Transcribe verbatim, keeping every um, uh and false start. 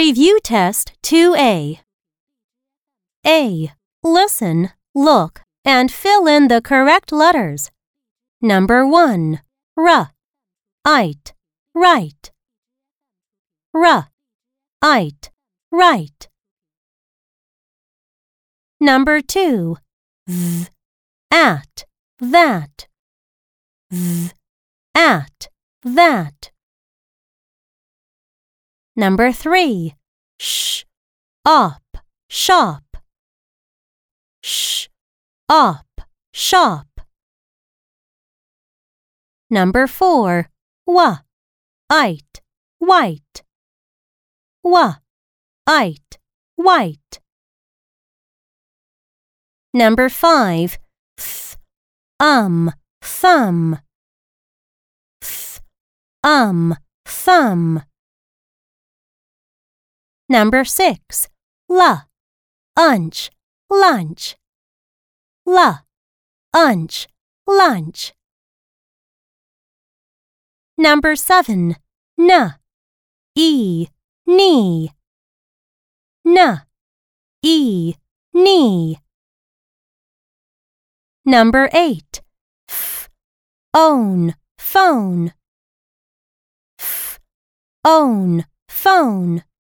Review Test two A. A. Listen, look, and fill in the correct letters. Number one. R. Ite. Right. R. Ite. Right. Number two. Th. At. That. Th. At. That. Number three. Sh. Op. Shop. Sh. Op. Shop. Number four. Wa. Ite. White. Wa. Ite. White. Number five. Th. Um. Thumb. Th. Um. Thumb. Number six. La. Unch. Lunch. La. Unch. Lunch. Number seven. N. E. Knee. N. E. Knee. Number eight. F. Own. Phone. F. Own. Phone.